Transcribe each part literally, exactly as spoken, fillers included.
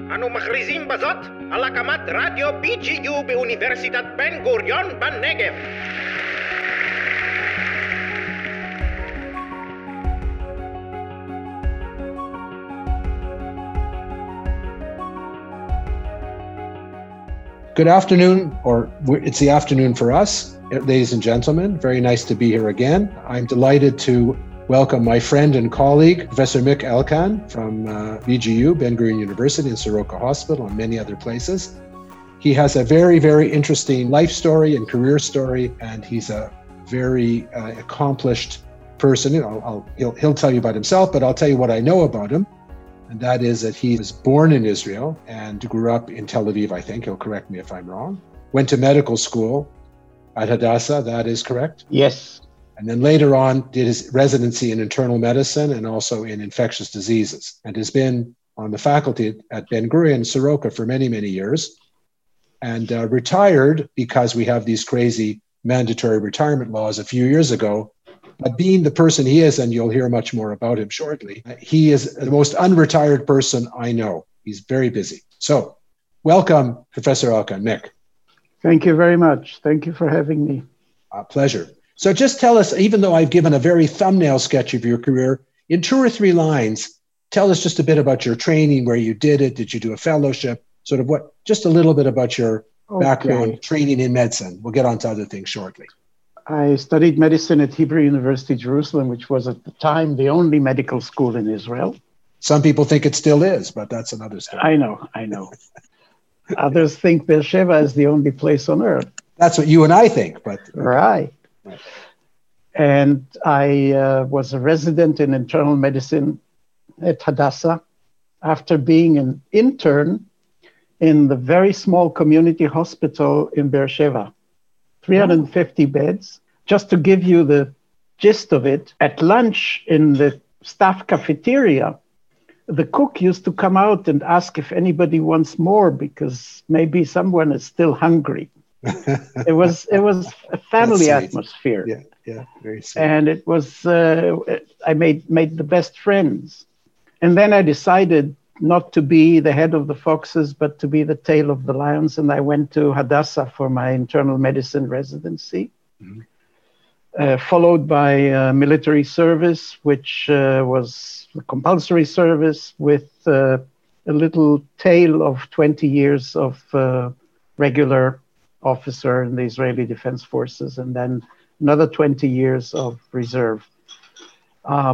אנו מכריזים בזאת על הקמת רדיו בי ג'י יו באוניברסיטת בן גוריון בנגב. Good afternoon, or it's the afternoon for us, ladies and gentlemen. Very nice to be here again. I'm delighted to welcome my friend and colleague, Professor Mick Elkan from uh, B G U, Ben Gurion University, and Soroka Hospital, and many other places. He has a very, very interesting life story and career story, and he's a very uh, accomplished person. You know, I'll, he'll, he'll tell you about himself, but I'll tell you what I know about him. And that is that he was born in Israel and grew up in Tel Aviv, I think. He'll correct me if I'm wrong. Went to medical school at Hadassah, that is correct? Yes. And then later on did his residency in internal medicine and also in infectious diseases, and has been on the faculty at Ben Gurion Soroka for many, many years, and uh, retired because we have these crazy mandatory retirement laws a few years ago. But being the person he is, and you'll hear much more about him shortly, he is the most unretired person I know. He's very busy. So welcome, Professor Elkan. Mick. Thank you very much. Thank you for having me. A pleasure. So just tell us, even though I've given a very thumbnail sketch of your career, in two or three lines, tell us just a bit about your training, where you did it. Did you do a fellowship? Sort of what, just a little bit about your okay. background, training in medicine. We'll get on to other things shortly. I studied medicine at Hebrew University, Jerusalem, which was at the time the only medical school in Israel. Some people think it still is, but that's another story. I know, I know. Others think Beersheba is the only place on earth. That's what you and I think, but... Right. right. And I uh, was a resident in internal medicine at Hadassah after being an intern in the very small community hospital in Beersheba. three hundred fifty beds. Just to give you the gist of it, at lunch in the staff cafeteria, the cook used to come out and ask if anybody wants more because maybe someone is still hungry. it was it was a family atmosphere. Yeah, yeah, very sweet. And it was uh, I made made the best friends. And then I decided not to be the head of the foxes, but to be the tail of the lions. And I went to Hadassah for my internal medicine residency, mm-hmm. uh, followed by uh, military service, which uh, was a compulsory service with uh, a little tail of twenty years of uh, regular officer in the Israeli Defense Forces, and then another twenty years of reserve. Uh,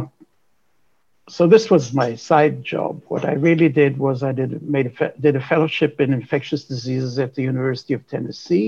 So this was my side job. What I really did was I did made a, did a fellowship in infectious diseases at the University of Tennessee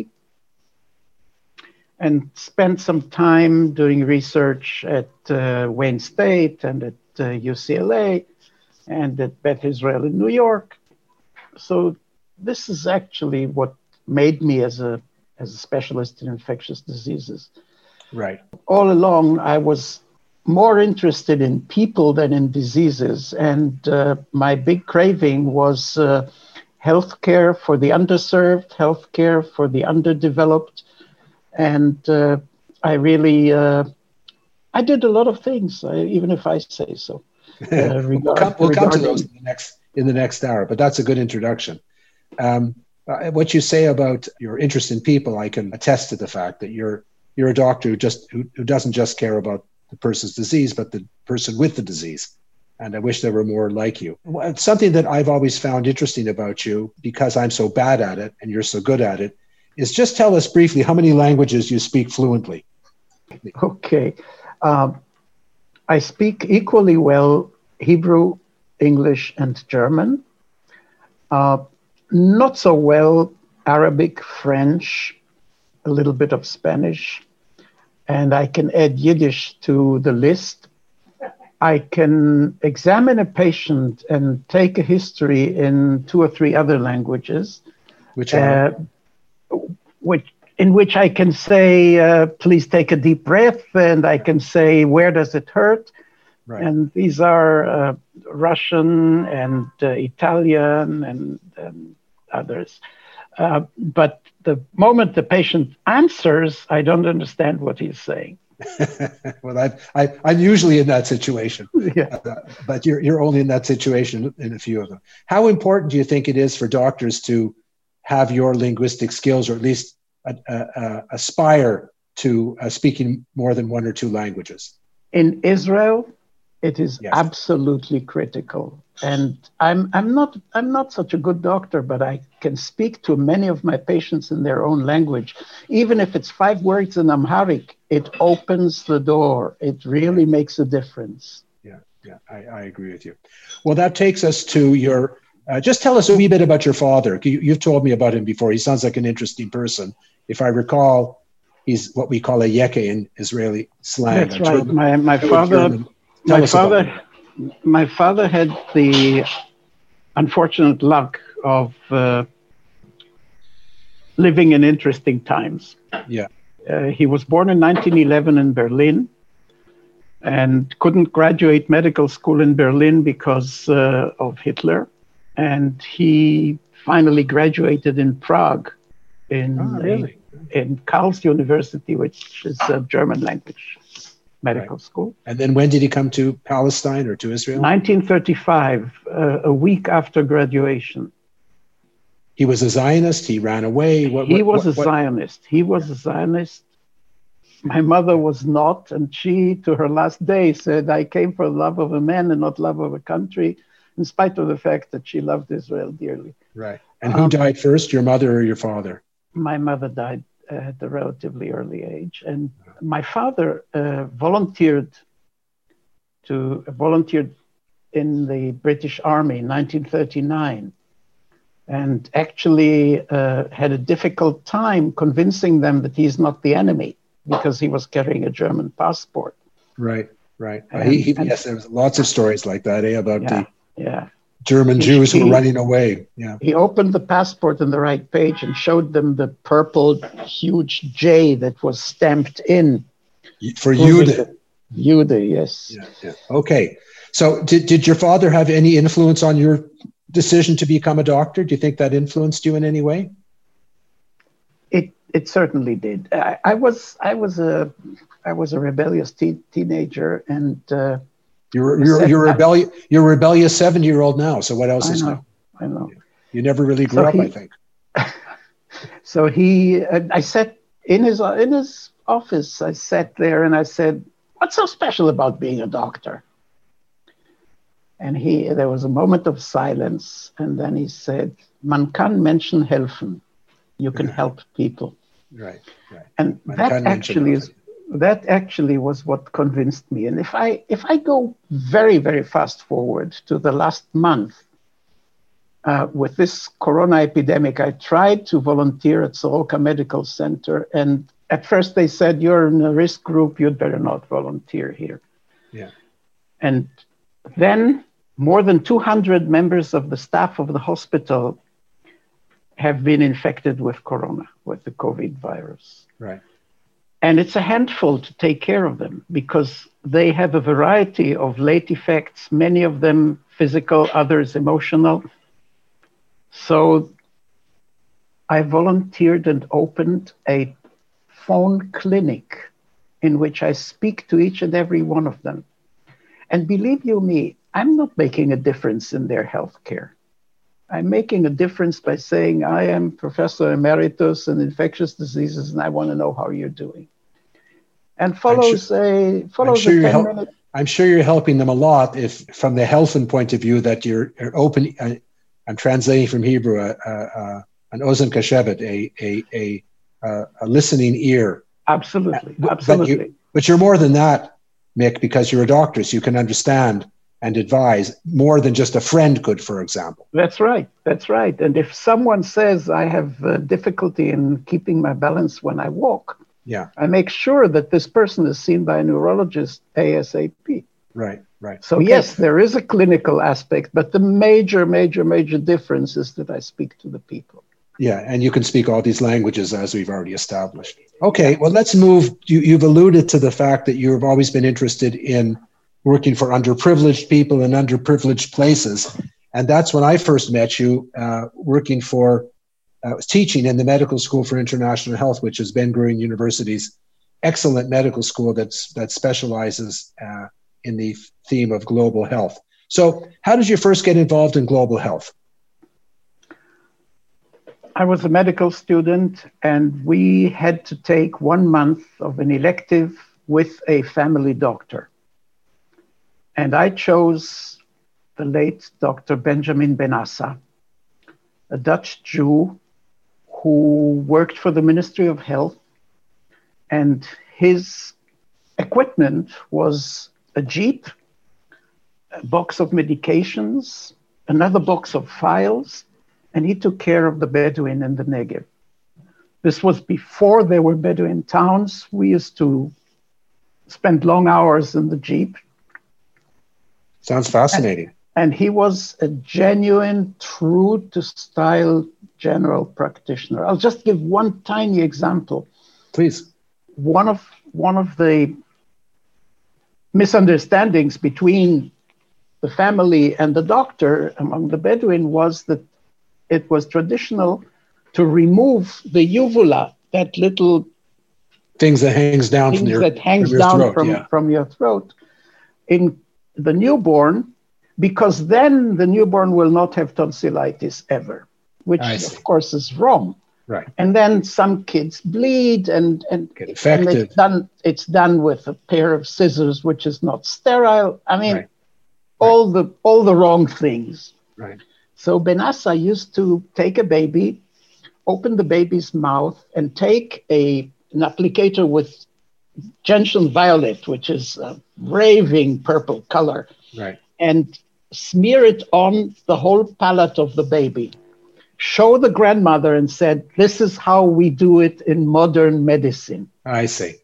and spent some time doing research at uh, Wayne State and at uh, U C L A and at Beth Israel in New York. So this is actually what made me as a as a specialist in infectious diseases. Right. All along, I was more interested in people than in diseases. And uh, my big craving was uh, healthcare for the underserved, healthcare for the underdeveloped. And uh, I really, uh, I did a lot of things, uh, even if I say so. Uh, regard, we'll come, we'll come to those in the next in the next hour, but that's a good introduction. Um, uh, what you say about your interest in people, I can attest to the fact that you're you're a doctor who just who, who doesn't just care about the person's disease, but the person with the disease. And I wish there were more like you. Something that I've always found interesting about you, because I'm so bad at it and you're so good at it, is just tell us briefly how many languages you speak fluently. Okay. Um, I speak equally well Hebrew, English, and German. Uh, not so well Arabic, French, a little bit of Spanish. And I can add Yiddish to the list. I can examine a patient and take a history in two or three other languages, which are? Uh, which, in which I can say, uh, please take a deep breath, and I can say, where does it hurt? Right. And these are uh, Russian and uh, Italian and, and others. Uh, but the moment the patient answers, I don't understand what he's saying. Well, I've, I, I'm usually in that situation, Yeah. uh, but you're you're only in that situation in a few of them. How important do you think it is for doctors to have your linguistic skills, or at least uh, uh, aspire to uh, speaking more than one or two languages? In Israel, it is Yes. absolutely critical. And I'm I'm not I'm not such a good doctor, but I can speak to many of my patients in their own language. Even if it's five words in Amharic, it opens the door. It really makes a difference. Yeah, yeah, I, I agree with you. Well, that takes us to your, uh, just tell us a wee bit about your father. You, you've told me about him before. He sounds like an interesting person. If I recall, he's what we call a yeke in Israeli slang. That's right. German, my my father, German. Tell my us about father, him. my father had the unfortunate luck of uh, living in interesting times. Yeah. Uh, he was born in nineteen eleven in Berlin and couldn't graduate medical school in Berlin because uh, of Hitler. And he finally graduated in Prague in, Oh, really? a, in Karls University, which is a German language medical Right. school. And then when did he come to Palestine or to Israel? nineteen thirty-five, uh, a week after graduation. He was a Zionist. He ran away. What, He what, was what, a Zionist. He was a Zionist. My mother was not, and she, to her last day, said, I came for the love of a man and not love of a country, in spite of the fact that she loved Israel dearly. Right. And who Um, died first, your mother or your father? My mother died at a relatively early age, and my father uh, volunteered to volunteered in the British Army in nineteen thirty-nine, and actually uh, had a difficult time convincing them that he's not the enemy because he was carrying a German passport. Right, right. Uh, And- he, he, and- yes, there's lots of stories like that, eh, about Yeah, the yeah. German He- Jews who were he- running away. Yeah, He opened the passport on the right page and showed them the purple huge J that was stamped in. for proving Jude. that- Jude, yes. Yeah, yeah. Okay. So, did did your father have any influence on your decision to become a doctor? Do you think that influenced you in any way? It it certainly did. I, I was I was a I was a rebellious teen, teenager, and uh, You're you're you're a rebellious you're a rebellious seventy year old now. So what else I is know new? I know. You never really grew So up, he- I think. So he, uh, I sat in his in his office. I sat there and I said, "What's so special about being a doctor?" And he, there was a moment of silence, and then he said, "Man kann Menschen helfen. You can help people." Right, right. And Man that kann Menschen actually is helfen. that actually was what convinced me. And if I if I go very very fast forward to the last month. Uh, with this corona epidemic, I tried to volunteer at Soroka Medical Center. And at first they said, you're in a risk group, you'd better not volunteer here. Yeah. And then more than two hundred members of the staff of the hospital have been infected with corona, with the COVID virus. Right. And it's a handful to take care of them because they have a variety of late effects, many of them physical, others emotional. So I volunteered and opened a phone clinic in which I speak to each and every one of them. And believe you me, I'm not making a difference in their health care. I'm making a difference by saying, I am Professor Emeritus in infectious diseases, and I want to know how you're doing. And follows sure, a follows sure a you're ten help- minute. I'm sure you're helping them a lot if, from the health and point of view, that you're, you're open. Uh, I'm translating from Hebrew, uh, uh, an ozen kashevet, a, a, a, uh, a listening ear. Absolutely, But absolutely. you, but you're more than that, Mick, because you're a doctor, so you can understand and advise more than just a friend could, for example. That's right. That's right. And if someone says I have uh, difficulty in keeping my balance when I walk, Yeah, I make sure that this person is seen by a neurologist ASAP. right, right. So Okay. yes, there is a clinical aspect, but the major, major, major difference is that I speak to the people. Yeah, and you can speak all these languages, as we've already established. Okay, well, let's move. You, you've alluded to the fact that you've always been interested in working for underprivileged people in underprivileged places. And that's when I first met you, uh, working for, uh, teaching in the Medical School for International Health, which is Ben Gurion University's excellent medical school that's that specializes uh, in the theme of global health. So how did you first get involved in global health? I was a medical student, and we had to take one month of an elective with a family doctor. And I chose the late Doctor Benjamin Benassa, a Dutch Jew who worked for the Ministry of Health. And his equipment was a Jeep, a box of medications, another box of files, and he took care of the Bedouin in the Negev. This was before there were Bedouin towns. We used to spend long hours in the Jeep. Sounds fascinating. And, and he was a genuine, true to style general practitioner. I'll just give one tiny example. Please. One of, one of the misunderstandings between the family and the doctor among the Bedouin was that it was traditional to remove the uvula, that little things that hangs down things from your, that hangs from your down throat, from, yeah. from your throat in the newborn, because then the newborn will not have tonsillitis ever, which of course is wrong. Right. And then some kids bleed, and and, Get infected. and it's done. It's done with a pair of scissors, which is not sterile. I mean, Right. all the all the wrong things. Right. So Benassa used to take a baby, open the baby's mouth, and take a an applicator with gentian violet, which is a raving purple color, Right. and smear it on the whole palate of the baby. Show the grandmother and said, "This is how we do it in modern medicine." I see.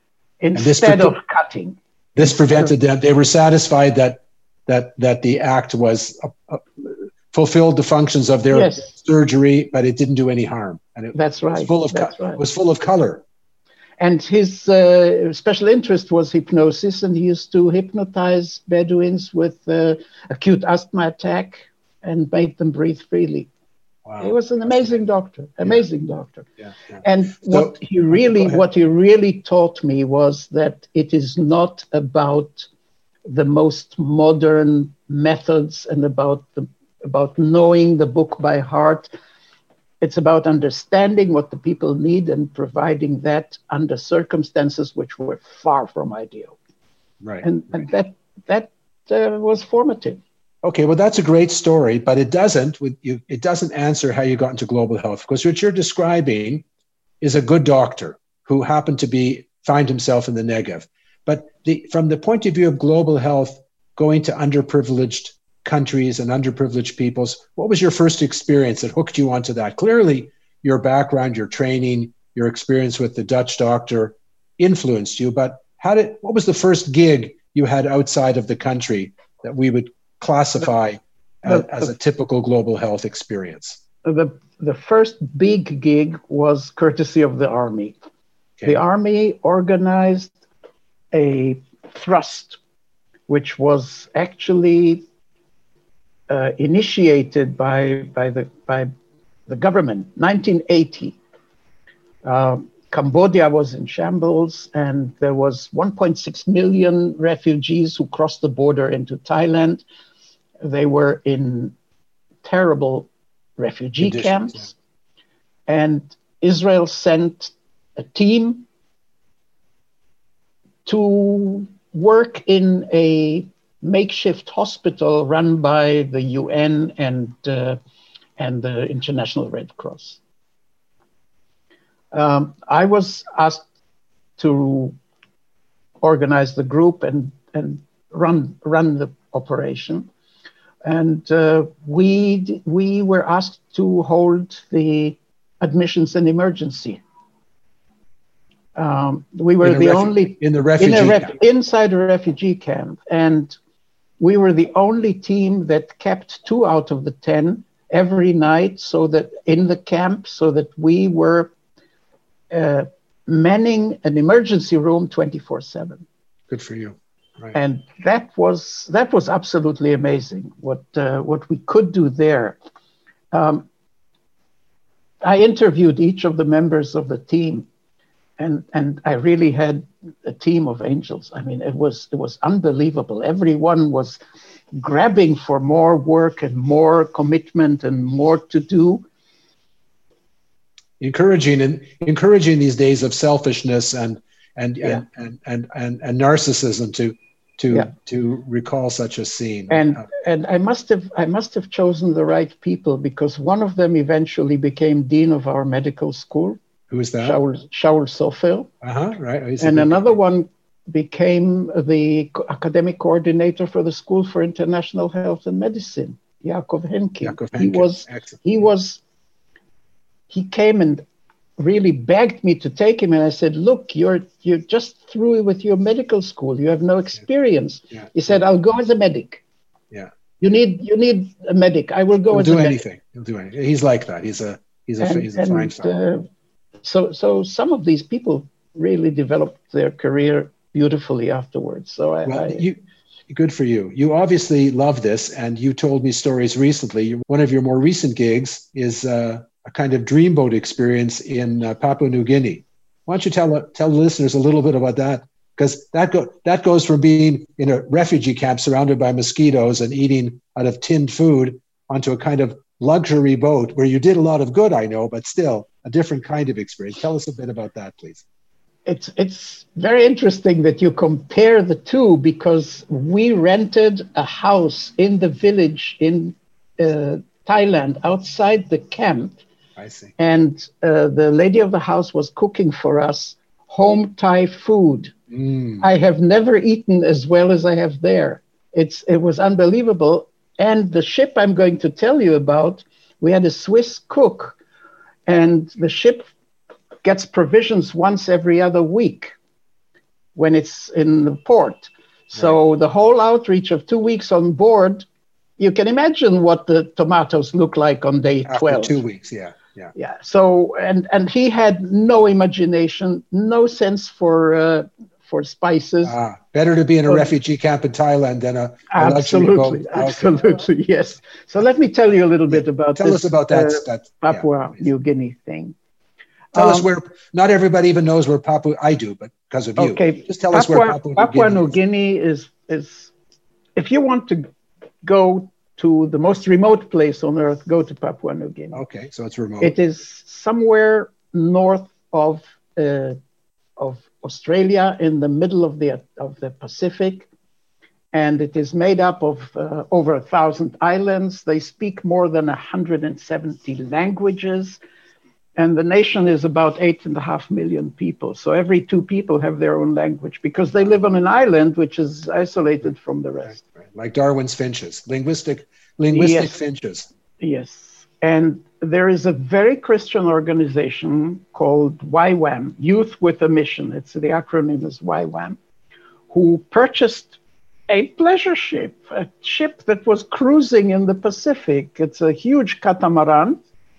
Instead pre- of cutting. This prevented them. They were satisfied that that that the act was uh, uh, fulfilled the functions of their Yes. surgery, but it didn't do any harm. And it That's right. was full of That's co- right. it was full of color. And his uh, special interest was hypnosis, and he used to hypnotize Bedouins with uh, acute asthma attack and make them breathe freely. Wow. He was an amazing doctor, amazing yeah. doctor. Yeah, yeah. And So- what he really, what he really taught me was that it is not about the most modern methods and about the about knowing the book by heart. It's about understanding what the people need and providing that under circumstances which were far from ideal. Right. And, right. and that that uh, was formative. Okay, well, that's a great story, but it doesn't with you. It doesn't answer how you got into global health, because what you're describing is a good doctor who happened to be find himself in the Negev. But the, from the point of view of global health, going to underprivileged countries and underprivileged peoples, what was your first experience that hooked you onto that? Clearly, your background, your training, your experience with the Dutch doctor influenced you. But how did? What was the first gig you had outside of the country that we would classify as, as a typical global health experience? The, the first big gig was courtesy of the army. Okay. The army organized a thrust, which was actually uh, initiated by, by, the, by the government, nineteen eighty. Uh, Cambodia was in shambles, and there was one point six million refugees who crossed the border into Thailand. They were in terrible refugee Conditions, camps, yeah. And Israel sent a team to work in a makeshift hospital run by the U N and, uh, and the International Red Cross. Um, I was asked to organize the group and, and run, run the operation. And uh, we, we were asked to hold the admissions and emergency. Um, we were the refu- only in the refugee in a ref, camp. inside a refugee camp, and we were the only team that kept two out of the ten every night, so that in the camp, so that we were uh, manning an emergency room twenty-four seven. Good for you. Right. And that was that was absolutely amazing. What uh, what we could do there. Um, I interviewed each of the members of the team. and and I really had a team of angels. I mean, it was it was unbelievable. Everyone was grabbing for more work and more commitment and more to do. Encouraging and encouraging these days of selfishness and and Yeah. and, and, and and and narcissism to to Yeah. to recall such a scene. And Uh, and I must have I must have chosen the right people, because one of them eventually became dean of our medical school, who is that? Shaul Shaul Sofer, Uh-huh, right. He's a and good another guy. one became the co- academic coordinator for the School for International Health and Medicine, Yaakov Henke. Yaakov He Henke. was Excellent. he was he came and really begged me to take him, and I said, look, you're you're just through with your medical school, you have no experience. Yeah. He said, I'll go as a medic. Yeah. You need you need a medic. I will go He'll as do a medic. anything. He'll do anything. He's like that. He's a he's a And, he's a fine and fellow. uh, so so some of these people really developed their career beautifully afterwards. So I, Well, I you, good for you. You obviously love this, and you told me stories recently. One of your more recent gigs is uh, a kind of dreamboat experience in uh, Papua New Guinea. Why don't you tell tell the listeners a little bit about that? Because that go that goes from being in a refugee camp surrounded by mosquitoes and eating out of tinned food onto a kind of luxury boat where you did a lot of good, I know, but still a different kind of experience. Tell us a bit about that, please. it's it's very interesting that you compare the two, because we rented a house in the village in uh, Thailand outside the camp, I see. and uh, the lady of the house was cooking for us home Thai food. Mm. I have never eaten as well as I have there. It's it was unbelievable. And the ship I'm going to tell you about, we had a Swiss cook, and the ship gets provisions once every other week when it's in the port. So Right. the whole outreach of two weeks on board, you can imagine what the tomatoes look like on day After twelve. two weeks, yeah, yeah. Yeah. So and and he had no imagination, no sense for uh, for spices. Ah, better to be in a So- refugee camp in Thailand than a, a luxury boat. Absolutely, Okay. absolutely, yes. So let me tell you a little bit about Tell this us about that. uh, that Papua yeah, please. New Guinea thing. Tell us Um, where. Not everybody even knows where Papua. I do, but because of you. Okay, Just tell Papua, us where Papua, Papua New New Guinea is. Guinea is is if you want to go to the most remote place on earth, go to Papua New Guinea. Okay, so it's remote. It is somewhere north of uh, of Australia, in the middle of the of the Pacific, and it is made up of uh, over a thousand islands. They speak more than one hundred seventy languages, and the nation is about eight and a half million people. So every two people have their own language, because they live on an island which is isolated from the rest. Right, right. Like Darwin's finches, linguistic linguistic Yes. finches. Yes. And there is a very Christian organization called Y WAM, Youth with a Mission. It's the acronym is Y WAM, who purchased a pleasure ship, a ship that was cruising in the Pacific. It's a huge catamaran,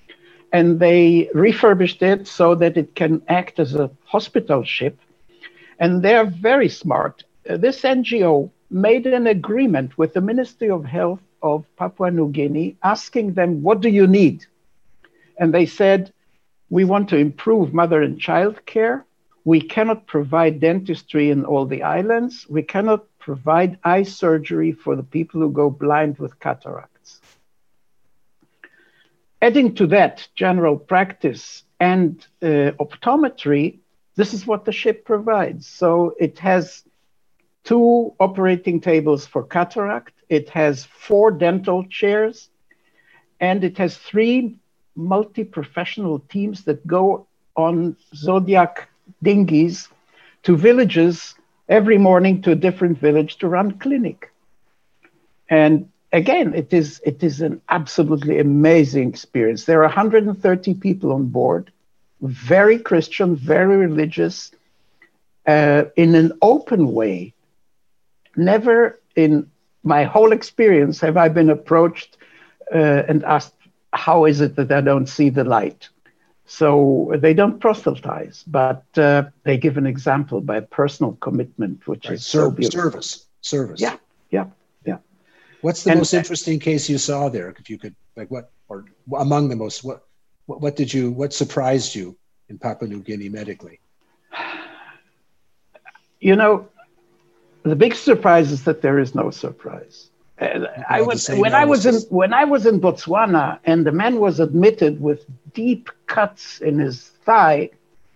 and they refurbished it so that it can act as a hospital ship. And they're very smart. Uh, this N G O made an agreement with the Ministry of Health of Papua New Guinea, asking them, what do you need? And they said, we want to improve mother and child care. We cannot provide dentistry in all the islands. We cannot provide eye surgery for the people who go blind with cataracts. Adding to that general practice and uh, optometry, this is what the ship provides. So it has two operating tables for cataract. It has four dental chairs, and it has three multi-professional teams that go on Zodiac dinghies to villages every morning, to a different village to run clinic. And again, it is, it is an absolutely amazing experience. There are one hundred thirty people on board, very Christian, very religious, uh, in an open way. Never in my whole experience have I been approached uh, and asked, how is it that I don't see the light? So they don't proselytize, but uh, they give an example by personal commitment, which Right. is so Ser- beautiful. service, service. Yeah, yeah, yeah. What's the And- most interesting case you saw there? If you could, like, what, or among the most, what, what, what did you, what surprised you in Papua New Guinea medically? You know, the big surprise is that there is no surprise. Uh, I was when I was in when I was in Botswana, and the man was admitted with deep cuts in his thigh,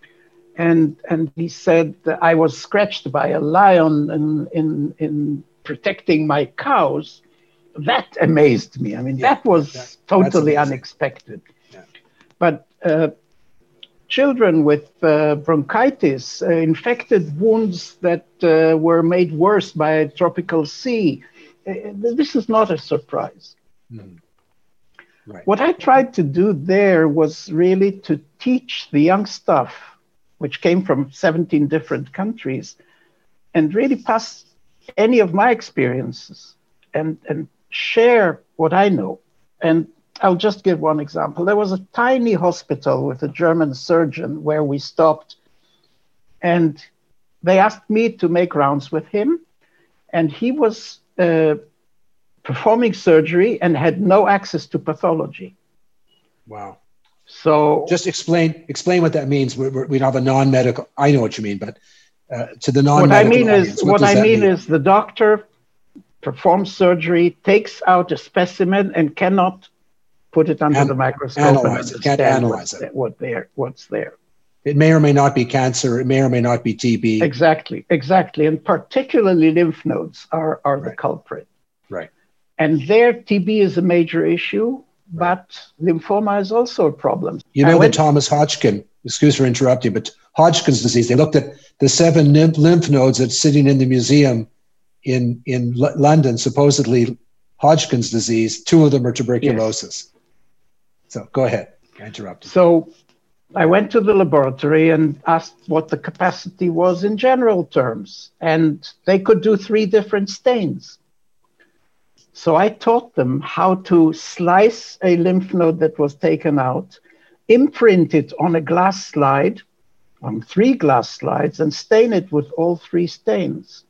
and and he said that I was scratched by a lion in in, in protecting my cows. That amazed me. I mean, yeah, that was that, totally unexpected. Yeah. But uh, children with uh, bronchitis, uh, infected wounds that uh, were made worse by a tropical sea. Uh, this is not a surprise. Mm. Right. What I tried to do there was really to teach the young stuff, which came from seventeen different countries, and really pass any of my experiences and, and share what I know. And I'll just give one example. There was a tiny hospital with a German surgeon where we stopped, and they asked me to make rounds with him, and he was uh, performing surgery and had no access to pathology. Wow. So just explain explain what that means. We, we have a non-medical, I know what you mean, but uh, to the non-medical what I mean audience, is, what, what I mean, mean is the doctor performs surgery, takes out a specimen, and cannot put it under An- the microscope analyze and it, can't analyze what, it. What there, what's there. It may or may not be cancer. It may or may not be T B. Exactly, exactly. And particularly lymph nodes are, are right. the culprit. Right. And there, T B is a major issue, right. but lymphoma is also a problem. You know, I the went, Thomas Hodgkin, excuse for interrupting, but Hodgkin's disease, they looked at the seven lymph, lymph nodes that's sitting in the museum in, in L- London, supposedly Hodgkin's disease. Two of them are tuberculosis. Yes. So go ahead. I interrupted. So I went to the laboratory and asked what the capacity was in general terms, and they could do three different stains. So I taught them how to slice a lymph node that was taken out, imprint it on a glass slide, on three glass slides, and stain it with all three stains.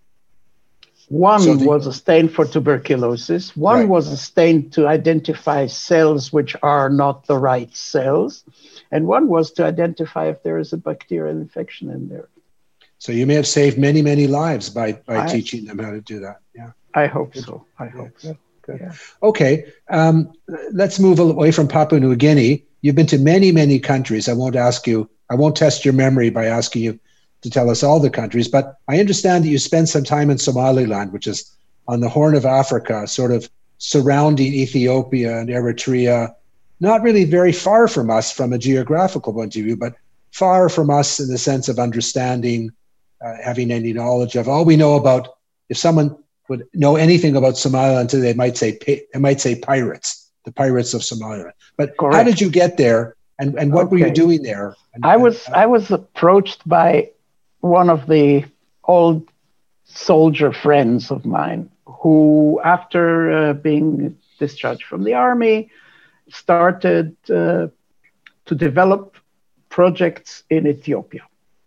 One so the, was a stain for tuberculosis. One right. was a stain to identify cells which are not the right cells. And one was to identify if there is a bacterial infection in there. So you may have saved many, many lives by, by I, teaching them how to do that. Yeah. I hope so. I hope yeah. so. Good. Yeah. Okay. Um, let's move away from Papua New Guinea. You've been to many, many countries. I won't ask you, I won't test your memory by asking you to tell us all the countries, but I understand that you spent some time in Somaliland, which is on the Horn of Africa, sort of surrounding Ethiopia and Eritrea, not really very far from us from a geographical point of view, but far from us in the sense of understanding, uh, having any knowledge of. All we know about, if someone would know anything about Somaliland today, they might say they might say pirates, the pirates of Somaliland. But Correct. How did you get there, and, and what okay. were you doing there? And, I was and, uh, I was approached by one of the old soldier friends of mine who, after uh, being discharged from the army, started uh, to develop projects in Ethiopia.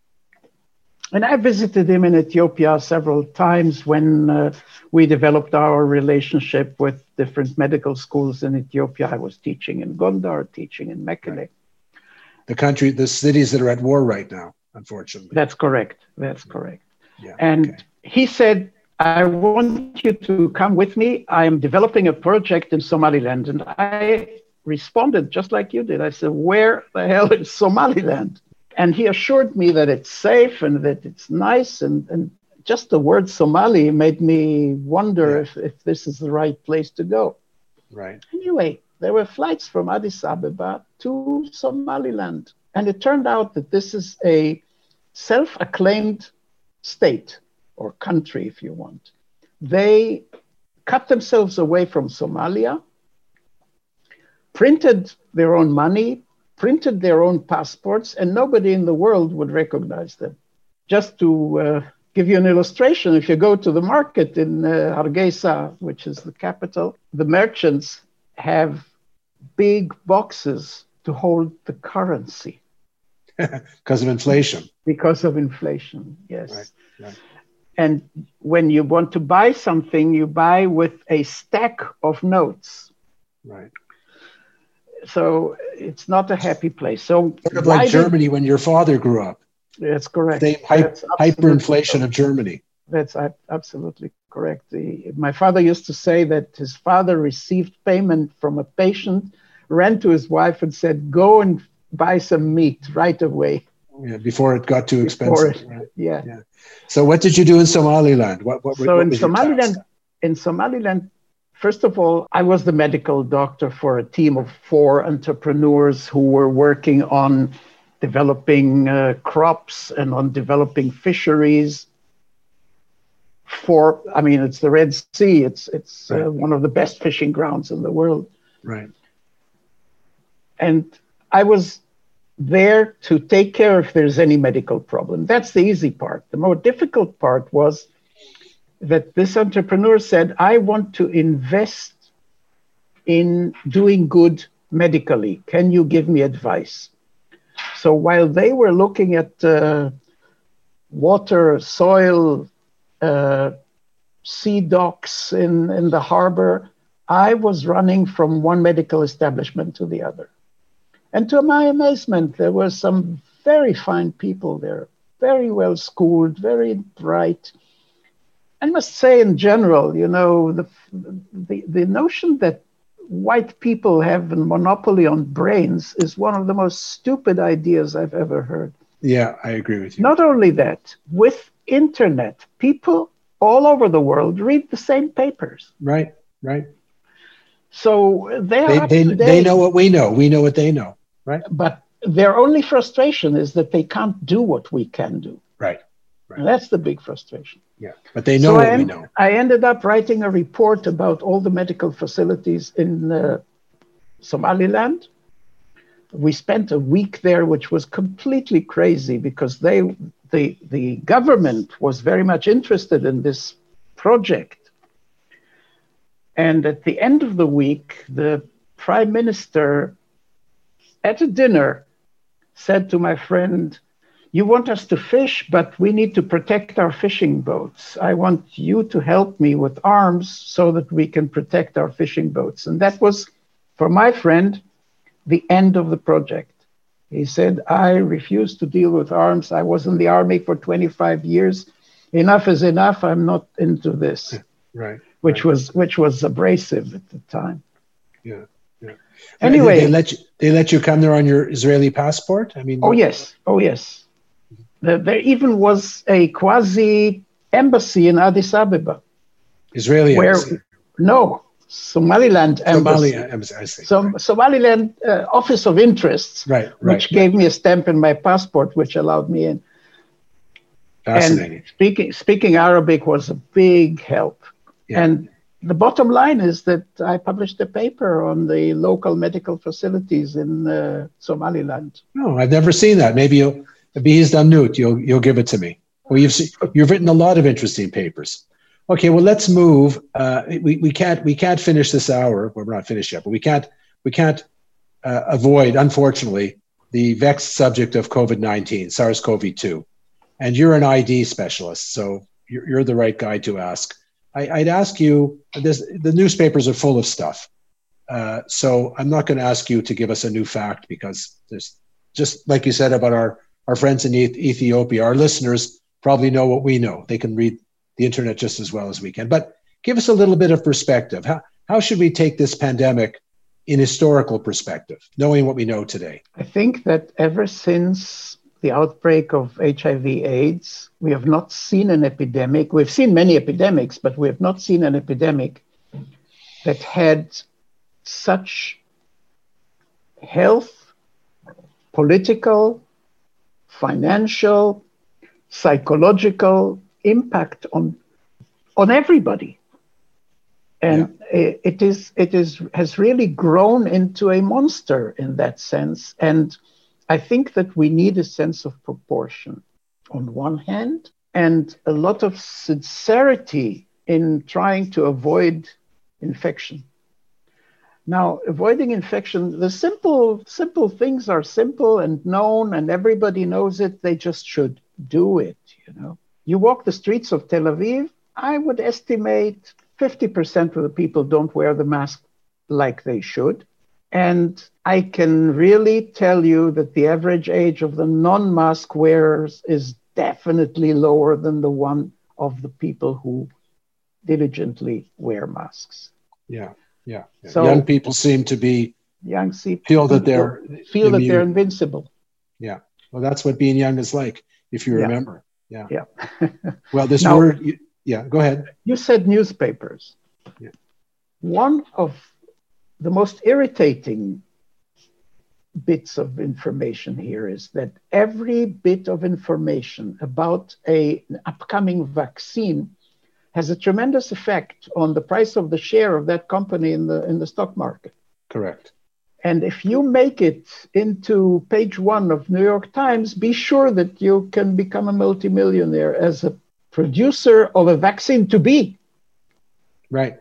And I visited him in Ethiopia several times when uh, we developed our relationship with different medical schools in Ethiopia. I was teaching in Gondar, teaching in Mekelle. Right. The country, the cities that are at war right now, unfortunately. That's correct. That's correct. Yeah, and okay. he said, I want you to come with me. I am developing a project in Somaliland. And I responded just like you did. I said, where the hell is Somaliland? And he assured me that it's safe and that it's nice. And, and just the word Somali made me wonder yeah. if, if this is the right place to go. Right. Anyway, there were flights from Addis Ababa to Somaliland. And it turned out that this is a self-acclaimed state or country, if you want. They cut themselves away from Somalia, printed their own money, printed their own passports, and nobody in the world would recognize them. Just to uh, give you an illustration, if you go to the market in uh, Hargeisa, which is the capital, the merchants have big boxes to hold the currency. Because of inflation. Because of inflation, yes. Right, right. And when you want to buy something, you buy with a stack of notes. Right. So it's not a happy place. So sort of like Germany did, when your father grew up. That's correct. Same hy- That's hyperinflation correct. of Germany. That's absolutely correct. The, my father used to say that his father received payment from a patient, ran to his wife and said, go and buy some meat right away. Yeah, before it got too Before expensive. It, right? yeah. yeah. So what did you do in Somaliland? What, what, so what in was your Somaliland, task? in Somaliland, first of all, I was the medical doctor for a team of four entrepreneurs who were working on developing uh, crops and on developing fisheries. For, I mean, it's the Red Sea. It's it's right. uh, one of the best fishing grounds in the world. Right. And I was there to take care if there's any medical problem. That's the easy part. The more difficult part was that this entrepreneur said, I want to invest in doing good medically. Can you give me advice? So while they were looking at uh, water, soil, uh, sea docks in, in the harbor, I was running from one medical establishment to the other. And to my amazement, there were some very fine people there, very well schooled, very bright. I must say in general, you know, the, the, the notion that white people have a monopoly on brains is one of the most stupid ideas I've ever heard. Yeah, I agree with you. Not only that, with internet, people all over the world read the same papers. Right, right. So they are they, they, they know what we know. We know what they know, right? But their only frustration is that they can't do what we can do. Right, right. And that's the big frustration. Yeah, but they know so what I, we know. I ended up writing a report about all the medical facilities in uh, Somaliland. We spent a week there, which was completely crazy because they, the, the government was very much interested in this project. And at the end of the week, the prime minister at a dinner said to my friend, you want us to fish, but we need to protect our fishing boats. I want you to help me with arms so that we can protect our fishing boats. And that was, for my friend, the end of the project. He said, I refuse to deal with arms. I was in the army for twenty-five years. Enough is enough. I'm not into this. Right. Which right. was which was abrasive at the time. Yeah. Yeah. Anyway, they let you they let you come there on your Israeli passport? I mean, oh yes, oh yes. The, there even was a quasi embassy in Addis Ababa. Israeli where, embassy. No, Somaliland embassy. Somalia embassy. I see. So, Somaliland uh, Office of Interests, right, right, which right. gave me a stamp in my passport, which allowed me in. Fascinating. And speaking speaking Arabic was a big help. Yeah. And the bottom line is that I published a paper on the local medical facilities in uh, Somaliland. No, I've never seen that. Maybe you'll, Bees Damnut, you'll you'll give it to me. Well, you've seen, you've written a lot of interesting papers. Okay, well, let's move. Uh, we we can't we can't finish this hour. Well, we're not finished yet, but we can't we can't uh, avoid, unfortunately, the vexed subject of COVID nineteen, SARS-C o V two. And you're an I D specialist, so you're, you're the right guy to ask. I, I'd ask you, this, the newspapers are full of stuff. Uh, so I'm not going to ask you to give us a new fact because there's, just like you said about our, our friends in Ethiopia, our listeners probably know what we know. They can read the internet just as well as we can. But give us a little bit of perspective. How, how should we take this pandemic in historical perspective, knowing what we know today? I think that ever since the outbreak of H I V AIDS, we have not seen an epidemic. We've seen many epidemics, but we have not seen an epidemic that had such health, political, financial, psychological impact on, on everybody. And yeah. it is it is has really grown into a monster in that sense. And I think that we need a sense of proportion on one hand, and a lot of sincerity in trying to avoid infection. Now, avoiding infection, the simple, simple things are simple and known, and everybody knows it. They just should do it, you know. You walk the streets of Tel Aviv, I would estimate fifty percent of the people don't wear the mask like they should. And I can really tell you that the average age of the non-mask wearers is definitely lower than the one of the people who diligently wear masks. Yeah, yeah. yeah. So young people seem to be young people feel that they're feel immune. that they're invincible. Yeah. Well, that's what being young is like, if you Yeah. remember. Yeah. Yeah. Well, this Now, word, yeah, go ahead. You said newspapers. Yeah. One of the most irritating bits of information here is that every bit of information about a, an upcoming vaccine has a tremendous effect on the price of the share of that company in the in the stock market. Correct. And if you make it into page one of New York Times, be sure that you can become a multimillionaire as a producer of a vaccine to be. Right.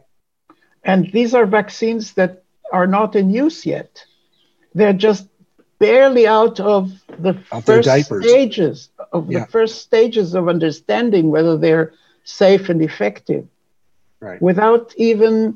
And these are vaccines that are not in use yet. They're just barely out of the Out their first diapers. stages of Yeah. the first stages of understanding whether they're safe and effective, Right. without even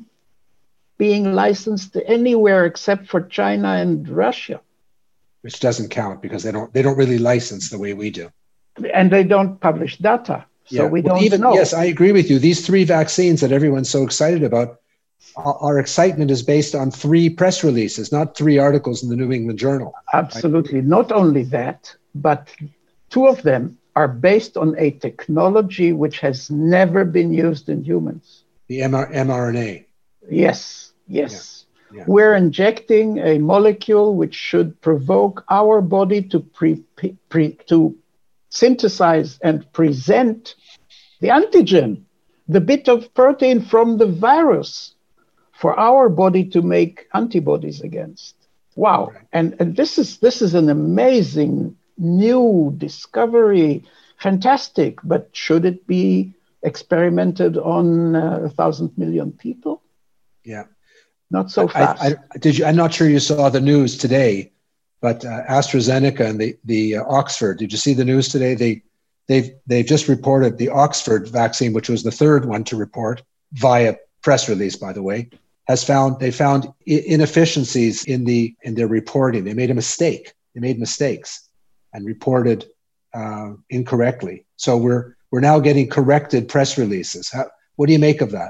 being licensed anywhere except for China and Russia. Which doesn't count because they don't they don't really license the way we do. And they don't publish data, so Yeah. we Well, don't even, know. Yes, I agree with you. These three vaccines that everyone's so excited about, our our excitement is based on three press releases, not three articles in the New England Journal. Absolutely. Not only that, but two of them are based on a technology which has never been used in humans. The mRNA. Yes, yes. Yeah, yeah. We're injecting a molecule which should provoke our body to pre, pre, to synthesize and present the antigen, the bit of protein from the virus, for our body to make antibodies against. Wow. Right. And, and this is this is an amazing new discovery, fantastic, but should it be experimented on uh, a thousand million people? Yeah. Not so fast. I, I, did you, I'm not sure you saw the news today, but uh, AstraZeneca and the, the uh, Oxford, did you see the news today? They, they've, they've just reported the Oxford vaccine, which was the third one to report via press release, by the way, has found, they found inefficiencies in the, in their reporting. They made a mistake. They made mistakes and reported uh, incorrectly. So we're, we're now getting corrected press releases. How, what do you make of that?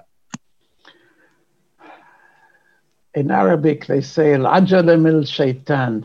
In Arabic, they say al-ajala min shaitan,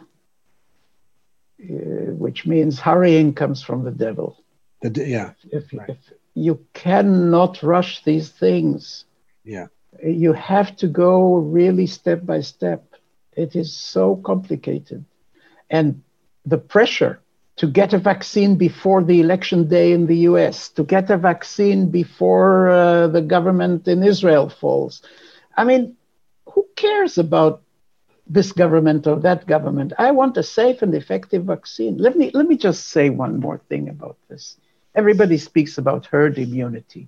which means hurrying comes from the devil. The, yeah. If, right. if you cannot rush these things. Yeah. You have to go really step by step. It is so complicated. And the pressure to get a vaccine before the election day in the U S, to get a vaccine before uh, the government in Israel falls. I mean, who cares about this government or that government? I want a safe and effective vaccine. Let me, let me just say one more thing about this. Everybody speaks about herd immunity.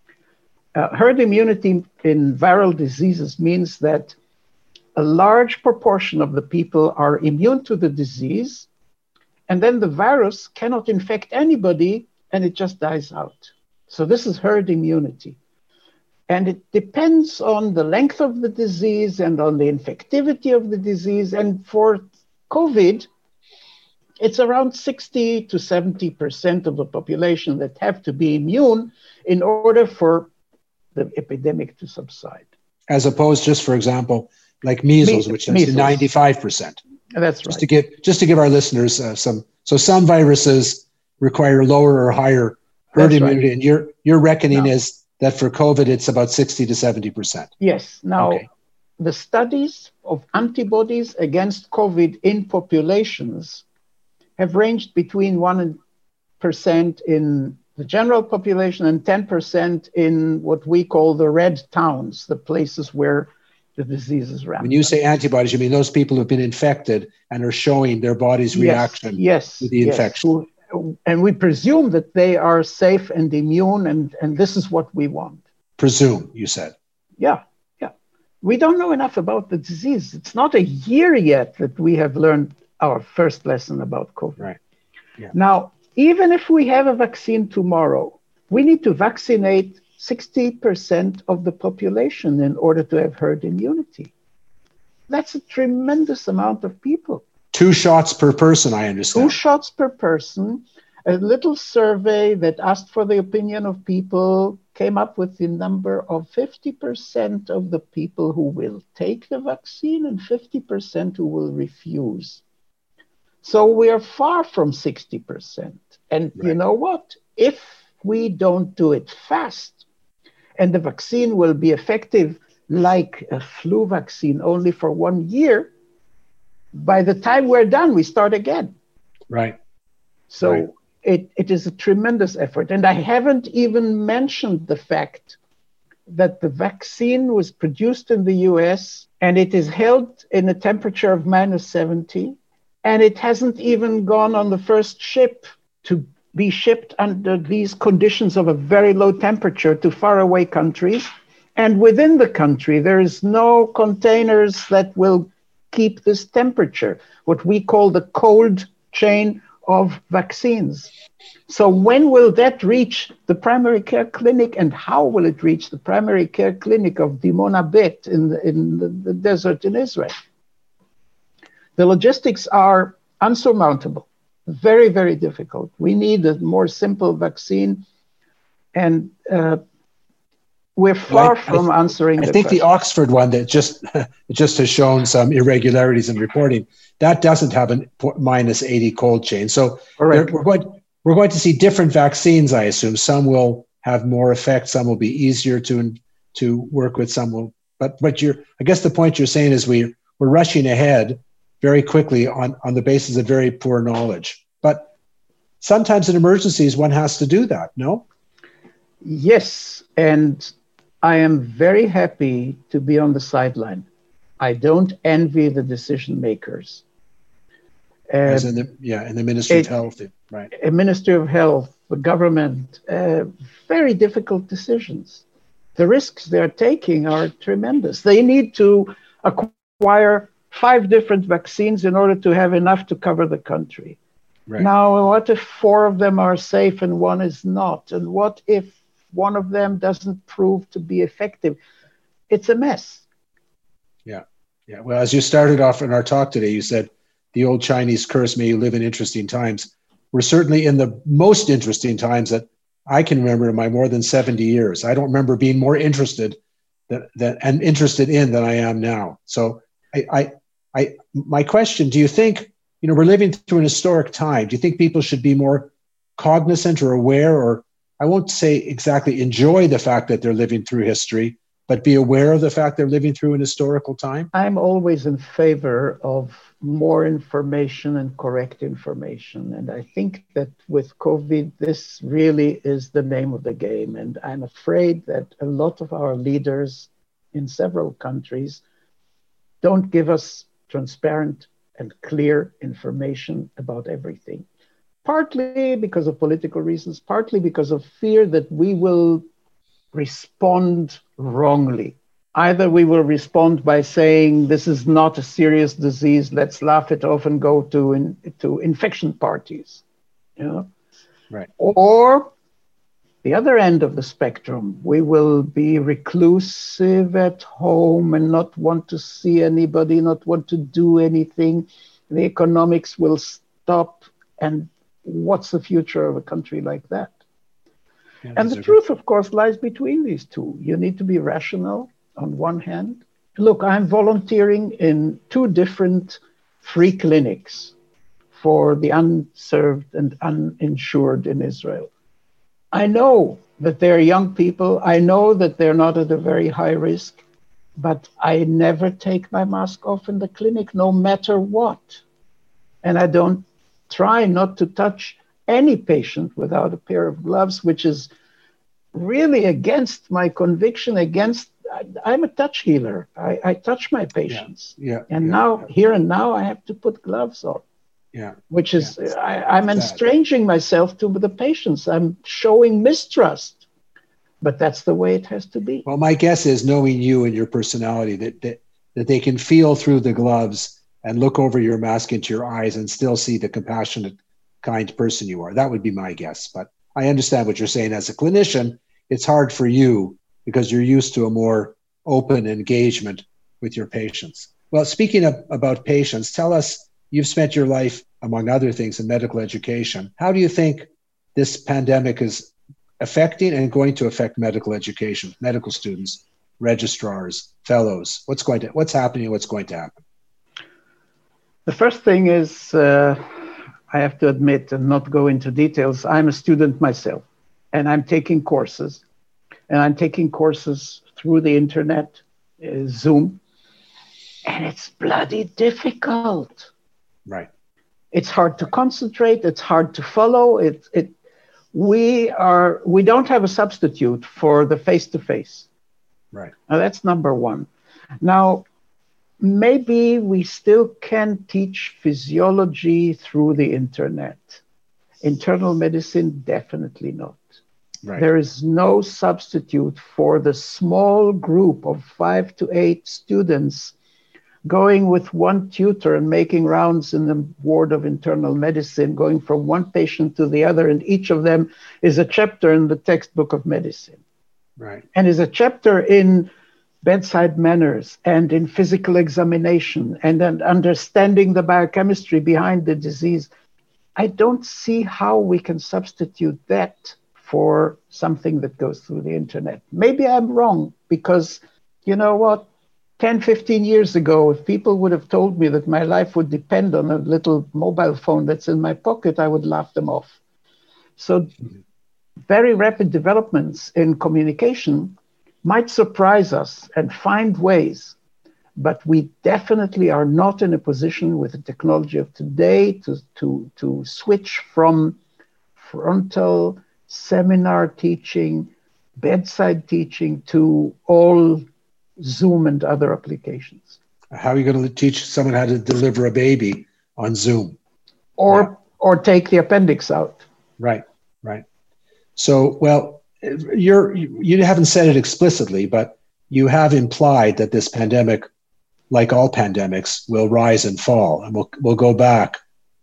Uh, herd immunity in viral diseases means that a large proportion of the people are immune to the disease, and then the virus cannot infect anybody and it just dies out. So this is herd immunity. And it depends on the length of the disease and on the infectivity of the disease. And for COVID, it's around sixty to seventy percent of the population that have to be immune in order for the epidemic to subside. As opposed, just for example, like measles, Me- which is measles. ninety-five percent. That's Just right. to give, just to give our listeners uh, some, so some viruses require lower or higher herd That's right. immunity, and your your reckoning No. is that for COVID it's about sixty to seventy percent. Yes. Now, Okay. the studies of antibodies against COVID in populations have ranged between one percent in the general population and ten percent in what we call the red towns, the places where the disease is rampant. When you say antibodies, you mean those people who've been infected and are showing their body's reaction yes, to the yes, infection. Who- and we presume that they are safe and immune, and, and this is what we want. Presume, you said. Yeah, yeah. We don't know enough about the disease. It's not a year yet that we have learned our first lesson about COVID. Right. Yeah. Now, even if we have a vaccine tomorrow, we need to vaccinate sixty percent of the population in order to have herd immunity. That's a tremendous amount of people. Two shots per person, I understand. Two shots per person. A little survey that asked for the opinion of people came up with the number of fifty percent of the people who will take the vaccine and fifty percent who will refuse. So we are far from sixty percent. And right. You know what? If we don't do it fast, and the vaccine will be effective like a flu vaccine only for one year, by the time we're done, we start again. Right. So right. It, it is a tremendous effort. And I haven't even mentioned the fact that the vaccine was produced in the U S and it is held in a temperature of minus seventy. And it hasn't even gone on the first ship to be shipped under these conditions of a very low temperature to faraway countries. And within the country, there is no containers that will keep this temperature, what we call the cold chain of vaccines. So when will that reach the primary care clinic, and how will it reach the primary care clinic of Dimona Bet in the, in the, the desert in Israel? The logistics are unsurmountable, very, very difficult. We need a more simple vaccine, and uh, we're far well, I, from I, answering I the think question. The Oxford one that just just has shown some irregularities in reporting, that doesn't have a minus eighty cold chain. So we're going, we're going to see different vaccines, I assume. Some will have more effect, some will be easier to to work with, some will. But but you're, I guess the point you're saying is we we're rushing ahead very quickly on, on the basis of very poor knowledge. But sometimes in emergencies, one has to do that, no? Yes, and I am very happy to be on the sideline. I don't envy the decision makers. Uh, As in the, yeah, in the Ministry it, of Health, right. A Ministry of Health, the government, uh, very difficult decisions. The risks they're taking are tremendous. They need to acquire five different vaccines in order to have enough to cover the country. Right. Now, what if four of them are safe and one is not? And what if one of them doesn't prove to be effective? It's a mess. Yeah. Yeah. Well, as you started off in our talk today, you said the old Chinese curse, may you live in interesting times. We're certainly in the most interesting times that I can remember in my more than seventy years. I don't remember being more interested than, than, and interested in than I am now. So I, I, I, my question, do you think, you know, we're living through an historic time. Do you think people should be more cognizant or aware, or I won't say exactly enjoy the fact that they're living through history, but be aware of the fact they're living through an historical time? I'm always in favor of more information and correct information. And I think that with COVID, this really is the name of the game. And I'm afraid that a lot of our leaders in several countries don't give us transparent and clear information about everything. Partly because of political reasons, partly because of fear that we will respond wrongly. Either we will respond by saying, this is not a serious disease, let's laugh it off and go to, in, to infection parties. You know? Right. Or the other end of the spectrum, we will be reclusive at home and not want to see anybody, not want to do anything. The economics will stop. And what's the future of a country like that? Yeah, and the truth, of course, lies between these two. You need to be rational on one hand. Look, I'm volunteering in two different free clinics for the unserved and uninsured in Israel. I know that they're young people. I know that they're not at a very high risk, but I never take my mask off in the clinic, no matter what. And I don't try not to touch any patient without a pair of gloves, which is really against my conviction, against, I, I'm a touch healer. I, I touch my patients. Yeah. yeah and yeah, now, yeah. here and now, I have to put gloves on. Yeah. Which is, yeah. I, I'm estranging myself to the patients. I'm showing mistrust. But that's the way it has to be. Well, my guess is, knowing you and your personality, that that, that they can feel through the gloves and look over your mask into your eyes and still see the compassionate, kind person you are. That would be my guess. But I understand what you're saying. As a clinician, it's hard for you because you're used to a more open engagement with your patients. Well, speaking of, about patients, tell us, you've spent your life, among other things, in medical education. How do you think this pandemic is affecting and going to affect medical education, medical students, registrars, fellows? What's going to, what's happening, what's going to happen? The first thing is, uh, I have to admit and not go into details, I'm a student myself, and I'm taking courses, and I'm taking courses through the internet, uh, Zoom, and it's bloody difficult. Right. It's hard to concentrate, it's hard to follow. It, it, we are, we don't have a substitute for the face-to-face. Right. Now that's number one. Now, maybe we still can teach physiology through the internet. Internal medicine, definitely not. Right. There is no substitute for the small group of five to eight students going with one tutor and making rounds in the ward of internal medicine, going from one patient to the other, and each of them is a chapter in the textbook of medicine. Right. And is a chapter in bedside manners and in physical examination and then understanding the biochemistry behind the disease. I don't see how we can substitute that for something that goes through the internet. Maybe I'm wrong, because you know what? ten, fifteen years ago, if people would have told me that my life would depend on a little mobile phone that's in my pocket, I would laugh them off. So very rapid developments in communication might surprise us and find ways, but we definitely are not in a position with the technology of today to, to, to switch from frontal seminar teaching, bedside teaching, to all Zoom and other applications. How are you going to teach someone how to deliver a baby on Zoom? Or, yeah. or take the appendix out. Right, right. So, well, you're, you haven't said it explicitly, but you have implied that this pandemic, like all pandemics, will rise and fall, and we'll, we'll go back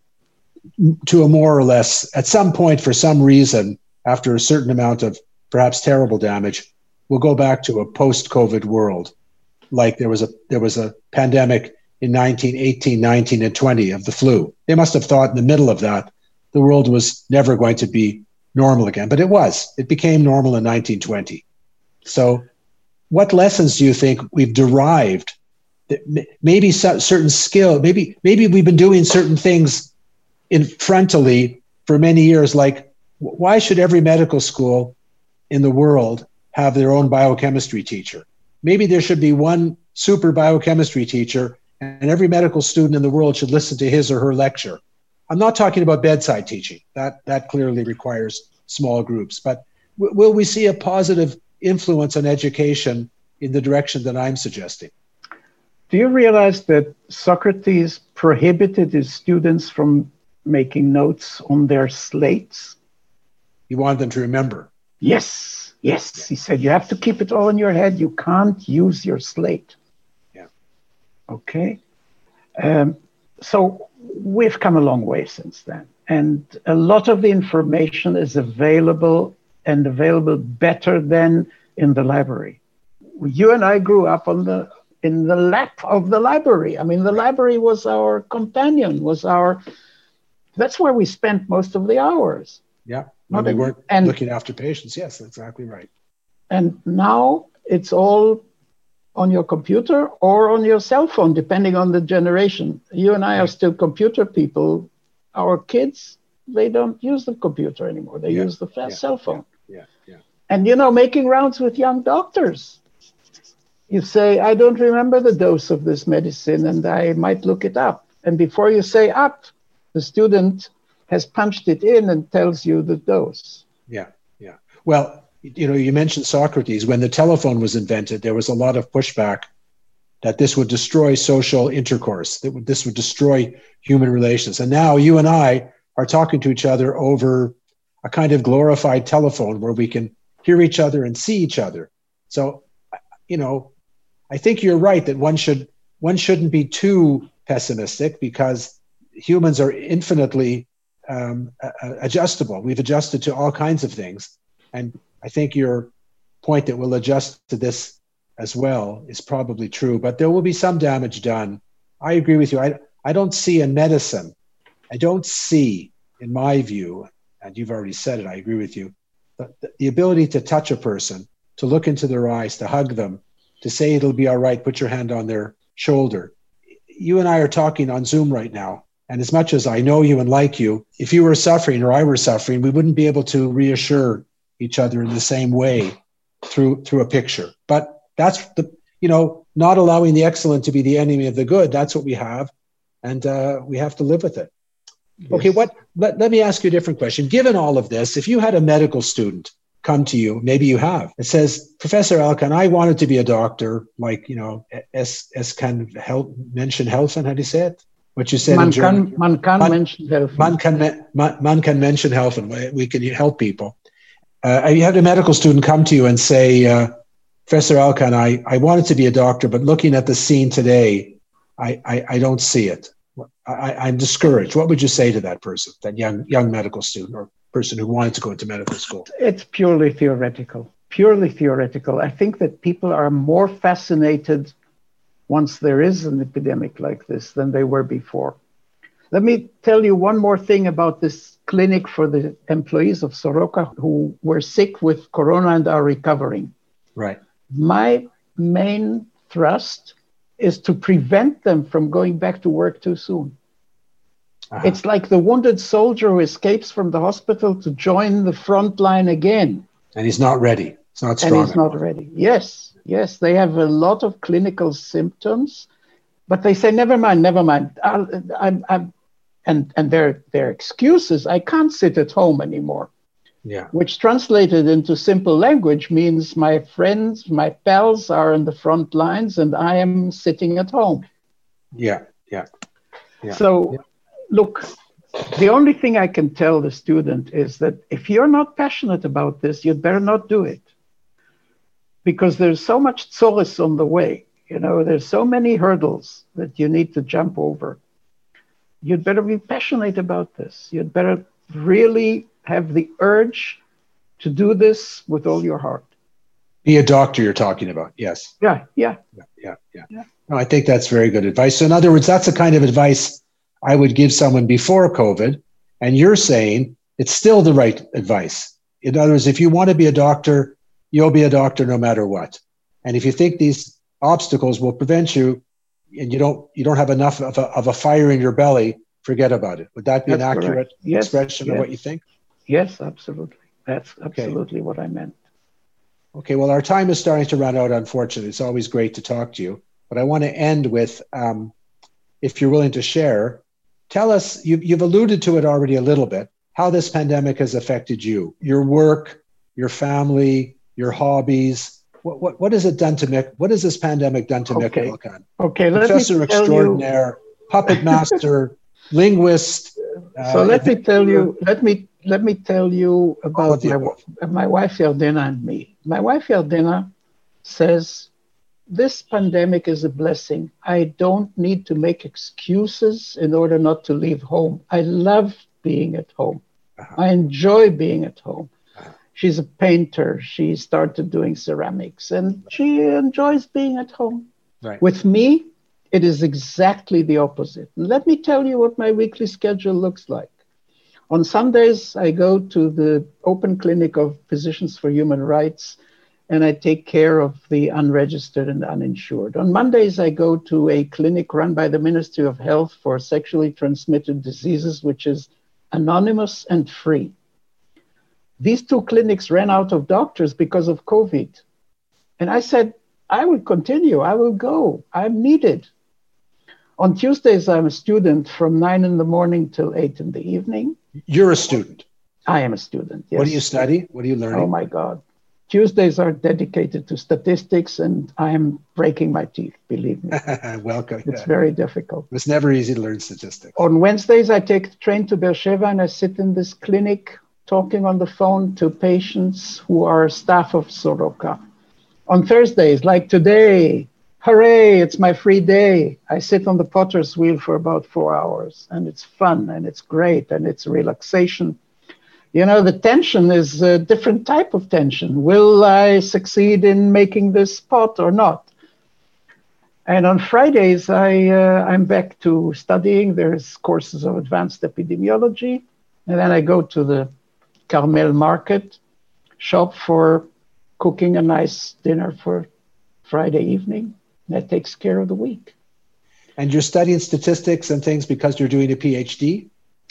to a more or less, at some point, for some reason, after a certain amount of perhaps terrible damage, we'll go back to a post-COVID world. Like there was a there was a pandemic in nineteen eighteen, nineteen, and twenty of the flu. They must have thought in the middle of that the world was never going to be normal again, but it was. It became normal in nineteen twenty. So what lessons do you think we've derived? That maybe certain skill, maybe maybe we've been doing certain things in frontally for many years, like why should every medical school in the world have their own biochemistry teacher? Maybe there should be one super biochemistry teacher, and every medical student in the world should listen to his or her lecture. I'm not talking about bedside teaching. That, that clearly requires small groups. But w- will we see a positive influence on education in the direction that I'm suggesting? Do you realize that Socrates prohibited his students from making notes on their slates? He wanted them to remember. Yes, yes. He said, you have to keep it all in your head. You can't use your slate. Yeah. Okay. Um, so we've come a long way since then. And a lot of the information is available and available better than in the library. You and I grew up on the in the lap of the library. I mean, the library was our companion, was our, that's where we spent most of the hours. Yeah. When we weren't and, looking after patients. Yes, that's exactly right. And now it's all on your computer or on your cell phone, depending on the generation. You and I are still computer people. Our kids, they don't use the computer anymore. They yeah, use the fast yeah, cell phone. Yeah, yeah, yeah. And, you know, making rounds with young doctors. You say, I don't remember the dose of this medicine, and I might look it up. And before you say up, the student has punched it in and tells you the dose. Yeah, yeah. Well, you know, you mentioned Socrates. When the telephone was invented, there was a lot of pushback that this would destroy social intercourse, that would, this would destroy human relations. And now you and I are talking to each other over a kind of glorified telephone where we can hear each other and see each other. So, you know, I think you're right that one should one shouldn't be too pessimistic, because humans are infinitely um, adjustable. We've adjusted to all kinds of things. And I think your point that we'll adjust to this as well is probably true, but there will be some damage done. I agree with you. I, I don't see in medicine, I don't see, in my view, and you've already said it, I agree with you, the, the ability to touch a person, to look into their eyes, to hug them, to say it'll be all right, put your hand on their shoulder. You and I are talking on Zoom right now, and as much as I know you and like you, if you were suffering or I were suffering, we wouldn't be able to reassure each other in the same way through through a picture. But that's the, you know, not allowing the excellent to be the enemy of the good. That's what we have, and uh, we have to live with it. Yes. Okay, what? Let, let me ask you a different question. Given all of this, if you had a medical student come to you, maybe you have, it says, Professor Alkan, I wanted to be a doctor, like, you know, es, es kann help, Menschen helfen, how do you say it? What you said man in German. Kann, man kann man, Menschen helfen. Man kann, man, man kann Menschen helfen. We can help people. Uh, you had a medical student come to you and say, uh, Professor Alkan, I, I wanted to be a doctor, but looking at the scene today, I, I, I don't see it. I, I'm discouraged. What would you say to that person, that young young medical student or person who wanted to go into medical school? It's purely theoretical, purely theoretical. I think that people are more fascinated once there is an epidemic like this than they were before. Let me tell you one more thing about this clinic for the employees of Soroka who were sick with corona and are recovering. Right. My main thrust is to prevent them from going back to work too soon. Uh-huh. It's like the wounded soldier who escapes from the hospital to join the front line again. And he's not ready. It's not strong. And he's not ready. Yes, yes. They have a lot of clinical symptoms, but they say, never mind, never mind. I'll, I'm, I'm, and and their, their excuses, I can't sit at home anymore. Yeah. Which translated into simple language means my friends, my pals are in the front lines and I am sitting at home. Yeah, yeah. yeah. So, yeah. Look, the only thing I can tell the student is that if you're not passionate about this, you'd better not do it. Because there's so much solace on the way. You know, there's so many hurdles that you need to jump over. You'd better be passionate about this. You'd better really have the urge to do this with all your heart. Be a doctor you're talking about, yes. Yeah, yeah. Yeah, yeah, yeah. yeah. No, I think that's very good advice. So in other words, that's the kind of advice I would give someone before COVID. And you're saying it's still the right advice. In other words, if you want to be a doctor, you'll be a doctor no matter what. And if you think these obstacles will prevent you and you don't you don't have enough of a, of a fire in your belly, forget about it. Would that be That's an accurate yes, expression yes. of what you think? Yes, absolutely. That's absolutely okay. what I meant. Okay, well, our time is starting to run out, unfortunately. It's always great to talk to you. But I want to end with, um, if you're willing to share, tell us, you've, you've alluded to it already a little bit, how this pandemic has affected you, your work, your family, your hobbies. What what, what has it done to Mick? What has this pandemic done to okay. Mick Elkan? Okay, let Professor me tell extraordinaire, you... puppet master, linguist. Uh, so let me tell you, let me let me tell you about my, my wife Yardena and me. My wife Yardena says, this pandemic is a blessing. I don't need to make excuses in order not to leave home. I love being at home. Uh-huh. I enjoy being at home. Uh-huh. She's a painter. She started doing ceramics and she enjoys being at home. Right. With me, it is exactly the opposite. And let me tell you what my weekly schedule looks like. On Sundays, I go to the open clinic of Physicians for Human Rights, and I take care of the unregistered and uninsured. On Mondays, I go to a clinic run by the Ministry of Health for sexually transmitted diseases, which is anonymous and free. These two clinics ran out of doctors because of COVID. And I said, I will continue, I will go, I'm needed. On Tuesdays, I'm a student from nine in the morning till eight in the evening. You're a student? I am a student, yes. What do you study? What are you learning? Oh my God. Tuesdays are dedicated to statistics and I am breaking my teeth, believe me. Welcome. It's yeah. very difficult. It's never easy to learn statistics. On Wednesdays, I take the train to Beersheba and I sit in this clinic talking on the phone to patients who are staff of Soroka. On Thursdays, like today, hooray, it's my free day. I sit on the potter's wheel for about four hours and it's fun and it's great and it's relaxation. You know, the tension is a different type of tension. Will I succeed in making this pot or not? And on Fridays, I, uh, I'm back to studying. There's courses of advanced epidemiology. And then I go to the Carmel market shop for cooking a nice dinner for Friday evening. That takes care of the week. And you're studying statistics and things because you're doing a PhD?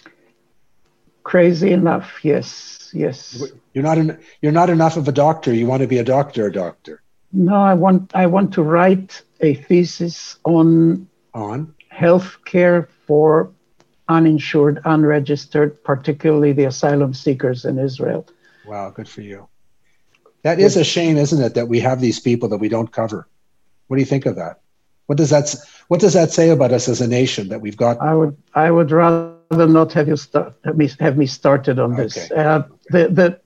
Crazy enough, yes, yes. You're not en- you're not enough of a doctor. You want to be a doctor, a doctor. No, I want I want to write a thesis on on health care for uninsured, unregistered, particularly the asylum seekers in Israel. Wow, good for you. That is a shame, isn't it, that we have these people that we don't cover? What do you think of that? What does that What does that say about us as a nation that we've got? I would I would rather not have you start have me have me started on this. Okay. Uh, the the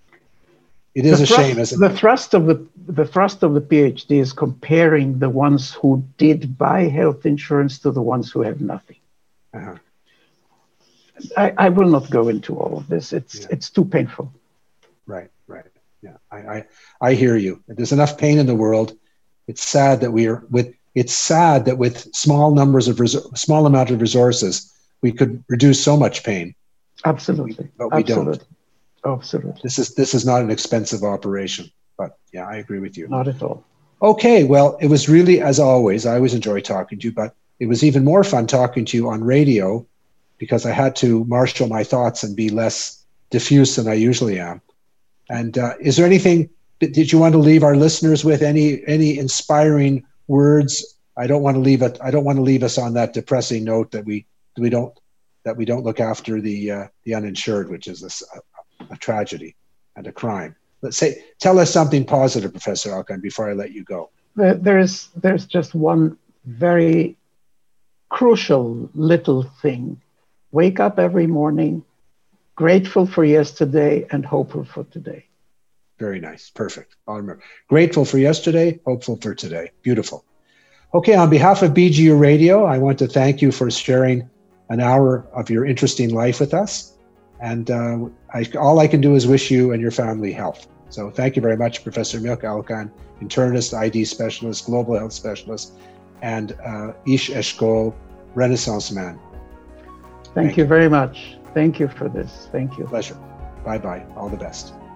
it is the a thrust, shame, isn't the it? thrust of the the thrust of the PhD is comparing the ones who did buy health insurance to the ones who have nothing. Uh-huh. I, I will not go into all of this. It's Yeah. it's too painful. Right, right. Yeah, I, I I hear you. There's enough pain in the world. It's sad that we are with. It's sad that with small numbers of res- small amount of resources, we could reduce so much pain. Absolutely, but we Absolutely. don't. Absolutely. This is this is not an expensive operation. But yeah, I agree with you. Not at all. Okay, well, it was really, as always, I always enjoy talking to you, but it was even more fun talking to you on radio because I had to marshal my thoughts and be less diffuse than I usually am. And uh, is there anything that did you want to leave our listeners with? Any any inspiring words? I don't want to leave it. I don't want to leave us on that depressing note that we that we don't that we don't look after the uh, the uninsured, which is a, a, a tragedy and a crime. Let's say, tell us something positive, Professor Alkan, before I let you go. There's there's just one very crucial little thing. Wake up every morning, grateful for yesterday and hopeful for today. Very nice. Perfect. I'll remember. Grateful for yesterday, hopeful for today. Beautiful. Okay, on behalf of B G U Radio, I want to thank you for sharing an hour of your interesting life with us. And uh, I, all I can do is wish you and your family health. So thank you very much, Professor Milk Alkan, internist, I D specialist, global health specialist, and uh, Ish Eshkol, Renaissance man. Thank, thank you, you very much. Thank you for this. Thank you. Pleasure. Bye-bye. All the best.